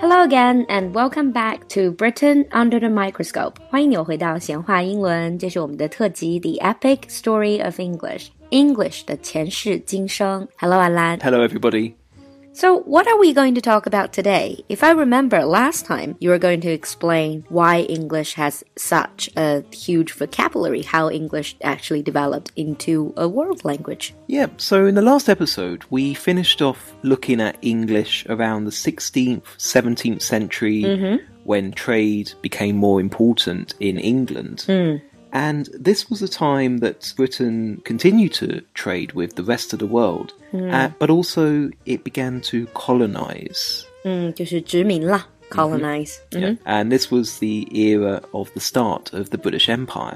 Hello again and welcome back to Britain Under the Microscope. 欢迎你回到闲话英文，这是我们的特辑 The Epic Story of English. English 的前世今生。Hello, Alan. Hello, everybody. So what are we going to talk about today? If I remember last time, you were going to explain why English has such a huge vocabulary, how English actually developed into a world language. Yeah, so in the last episode, we finished off looking at English around the 16th, 17th century, when trade became more important in England. And this was a time that Britain continued to trade with the rest of the world, but also it began to colonize. 就是殖民啦 colonize. Yeah. And this was the era of the start of the British Empire.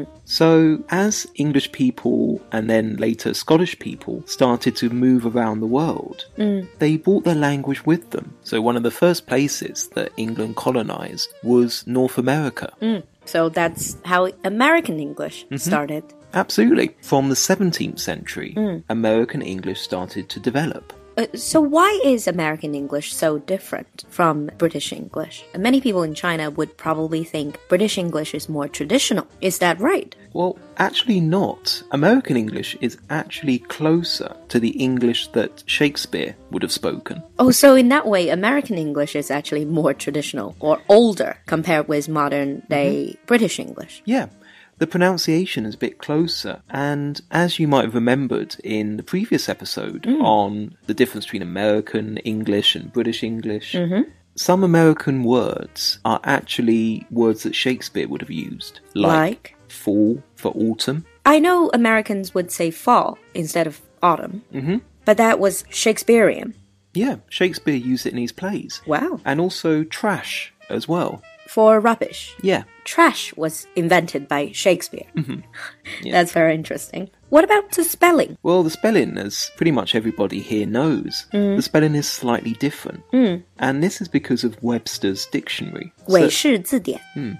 So as English people and then later Scottish people started to move around the world, they brought their language with them. So one of the first places that England colonized was North America. So that's how American English started. Absolutely. From the 17th century, American English started to develop. So why is American English so different from British English? Many people in China would probably think British English is more traditional. Is that right? Well, actually not. American English is actually closer to the English that Shakespeare would have spoken. Oh, so in that way, American English is actually more traditional or older compared with modern-day British English. Yeah. The pronunciation is a bit closer, and as you might have remembered in the previous episode on the difference between American English and British English, some American words are actually words that Shakespeare would have used, like fall for autumn. I know Americans would say fall instead of autumn, but that was Shakespearean. Yeah, Shakespeare used it in his plays. Wow. And also trash as well. For rubbish. Yeah. Trash was invented by Shakespeare. Yeah. That's very interesting. What about the spelling? Well, the spelling, as pretty much everybody here knows, the spelling is slightly different. And this is because of Webster's dictionary. 韦氏字典.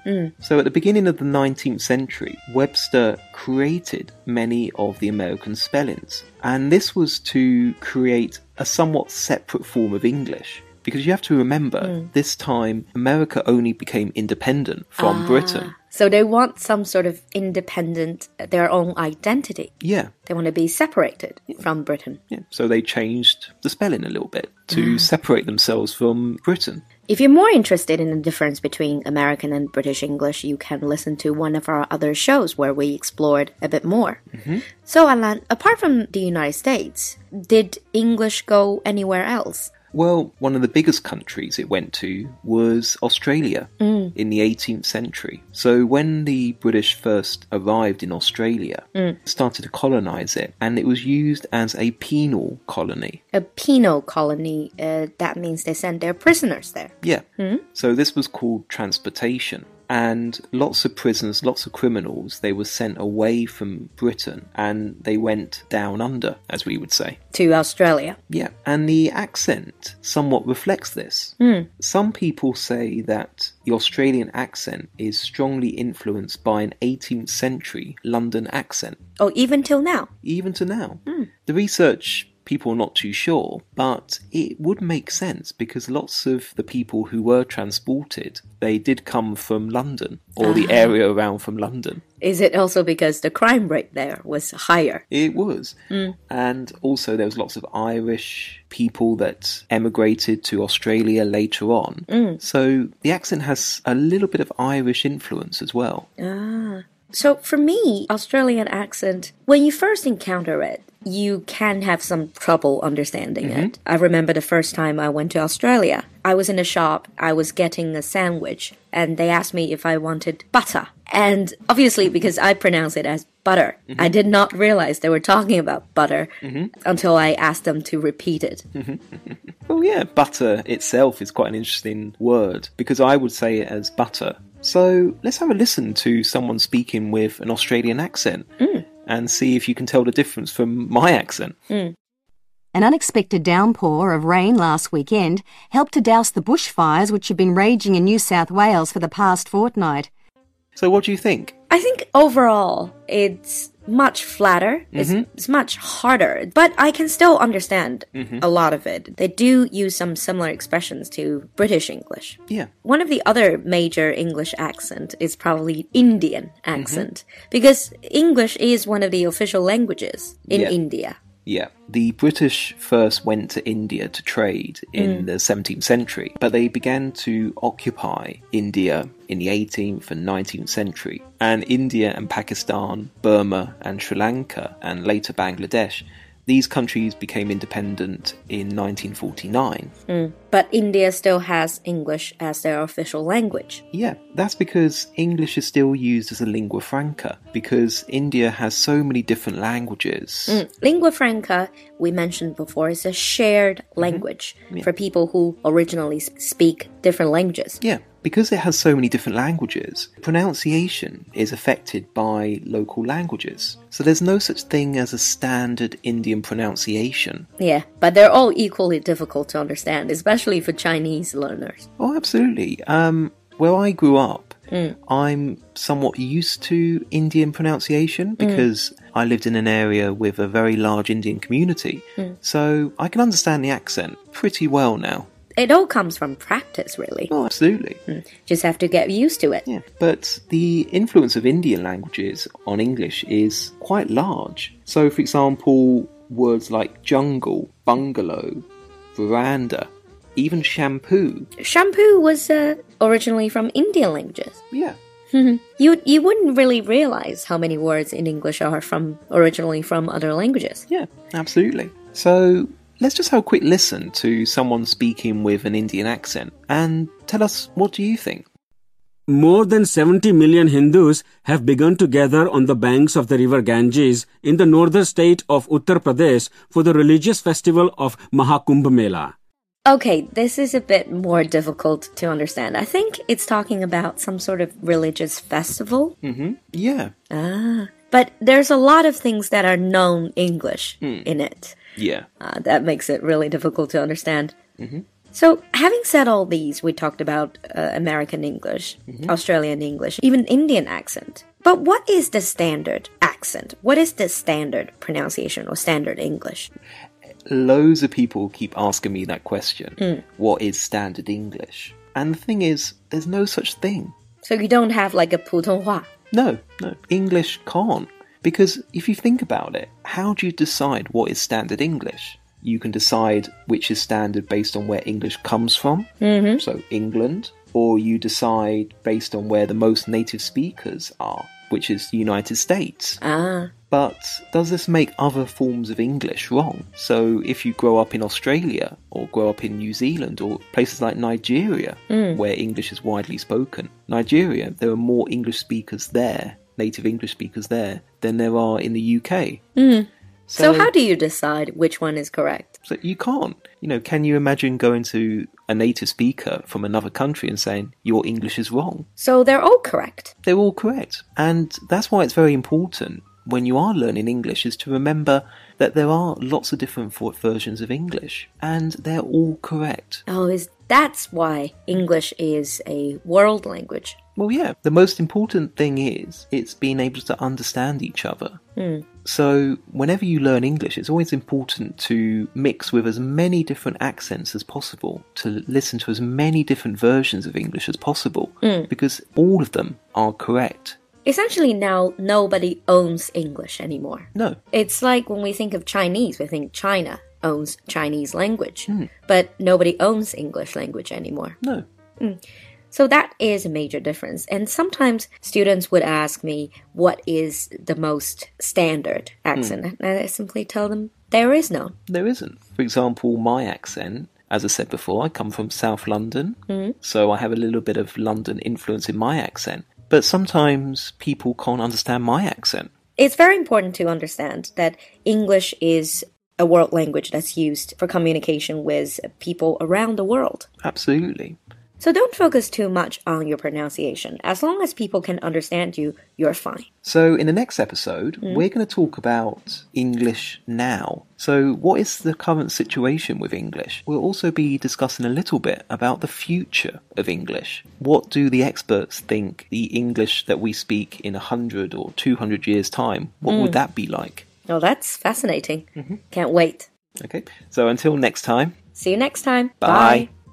So at the beginning of the 19th century, Webster created many of the American spellings. And this was to create a somewhat separate form of English. Because you have to remember, this time, America only became independent from Britain. So they want some sort of independent, their own identity. Yeah. They want to be separated from Britain. Yeah. So they changed the spelling a little bit to separate themselves from Britain. If you're more interested in the difference between American and British English, you can listen to one of our other shows where we explored a bit more. So, Alan, apart from the United States, did English go anywhere else? Well, one of the biggest countries it went to was Australia in the 18th century. So when the British first arrived in Australia, started to colonize it, and it was used as a penal colony. A penal colony, that means they sent their prisoners there. Yeah. So this was called transportation. And lots of prisoners, lots of criminals, they were sent away from Britain and they went down under, as we would say. To Australia. Yeah, and the accent somewhat reflects this. Some people say that the Australian accent is strongly influenced by an 18th century London accent. Oh, even till now? Even to now. The research... people are not too sure, but it would make sense because lots of the people who were transported, they did come from London or the area around from London. Is it also because the crime rate there was higher? It was. And also there was lots of Irish people that emigrated to Australia later on. So the accent has a little bit of Irish influence as well. So for me, Australian accent, when you first encounter it, you can have some trouble understanding it. I remember the first time I went to Australia. I was in a shop, I was getting a sandwich, and they asked me if I wanted butter. And obviously, because I pronounce it as butter, I did not realize they were talking about butter until I asked them to repeat it. Well, yeah, butter itself is quite an interesting word, because I would say it as butter. So let's have a listen to someone speaking with an Australian accent and see if you can tell the difference from my accent. An unexpected downpour of rain last weekend helped to douse the bushfires which have been raging in New South Wales for the past fortnight. So what do you think? I think overall, it's much flatter. It's much harder. But I can still understand a lot of it. They do use some similar expressions to British English. Yeah. One of the other major English accent is probably Indian accent. Because English is one of the official languages in India. Yeah, the British first went to India to trade in the 17th century, but they began to occupy India in the 18th and 19th century. And India and Pakistan, Burma and Sri Lanka, and later Bangladesh, these countries became independent in 1949. But India still has English as their official language. Yeah, that's because English is still used as a lingua franca, because India has so many different languages. Lingua franca, we mentioned before, is a shared language for people who originally speak different languages. Yeah, because it has so many different languages, pronunciation is affected by local languages. So there's no such thing as a standard Indian pronunciation. Yeah, but they're all equally difficult to understand, especially for Chinese learners. Oh, absolutely. Where I grew up, I'm somewhat used to Indian pronunciation because I lived in an area with a very large Indian community. So I can understand the accent pretty well now. It all comes from practice, really. Oh, absolutely. Just have to get used to it. Yeah, but the influence of Indian languages on English is quite large. So, for example, words like jungle, bungalow, veranda, even shampoo. Shampoo was originally from Indian languages. Yeah. You wouldn't really realize how many words in English are originally from other languages. Yeah, absolutely. So let's just have a quick listen to someone speaking with an Indian accent and tell us, what do you think? More than 70 million Hindus have begun to gather on the banks of the river Ganges in the northern state of Uttar Pradesh for the religious festival of Mahakumbh Mela. Okay, this is a bit more difficult to understand. I think it's talking about some sort of religious festival. Yeah. But there's a lot of things that are known English in it. Yeah. That makes it really difficult to understand. So, having said all these, we talked about American English, Australian English, even Indian accent. But what is the standard accent? What is the standard pronunciation or standard English? Loads of people keep asking me that question. What is standard English? And the thing is, there's no such thing. So you don't have like a 普通话? No. English can't. Because if you think about it, how do you decide what is standard English? You can decide which is standard based on where English comes from, so England, or you decide based on where the most native speakers are, which is the United States. But does this make other forms of English wrong? So if you grow up in Australia, or grow up in New Zealand, or places like Nigeria, where English is widely spoken, Nigeria, there are more English speakers there, native English speakers there, than there are in the UK. So how do you decide which one is correct? So you can't. Can you imagine going to a native speaker from another country and saying, your English is wrong? So they're all correct. They're all correct. And that's why it's very important when you are learning English is to remember that there are lots of different versions of English and they're all correct. That's why English is a world language. Well, yeah. The most important thing is it's being able to understand each other. So whenever you learn English, it's always important to mix with as many different accents as possible, to listen to as many different versions of English as possible, because all of them are correct. Essentially now, nobody owns English anymore. No. It's like when we think of Chinese, we think China owns Chinese language, but nobody owns English language anymore. No. So that is a major difference. And sometimes students would ask me, what is the most standard accent? And I simply tell them, there is none. There isn't. For example, my accent, as I said before, I come from South London, so I have a little bit of London influence in my accent. But sometimes people can't understand my accent. It's very important to understand that English is a world language that's used for communication with people around the world. Absolutely. So don't focus too much on your pronunciation. As long as people can understand you, you're fine. So in the next episode, we're going to talk about English now. So what is the current situation with English? We'll also be discussing a little bit about the future of English. What do the experts think the English that we speak in 100 or 200 years' time, what would that be like? Oh, that's fascinating. Can't wait. Okay, so until next time. See you next time. Bye.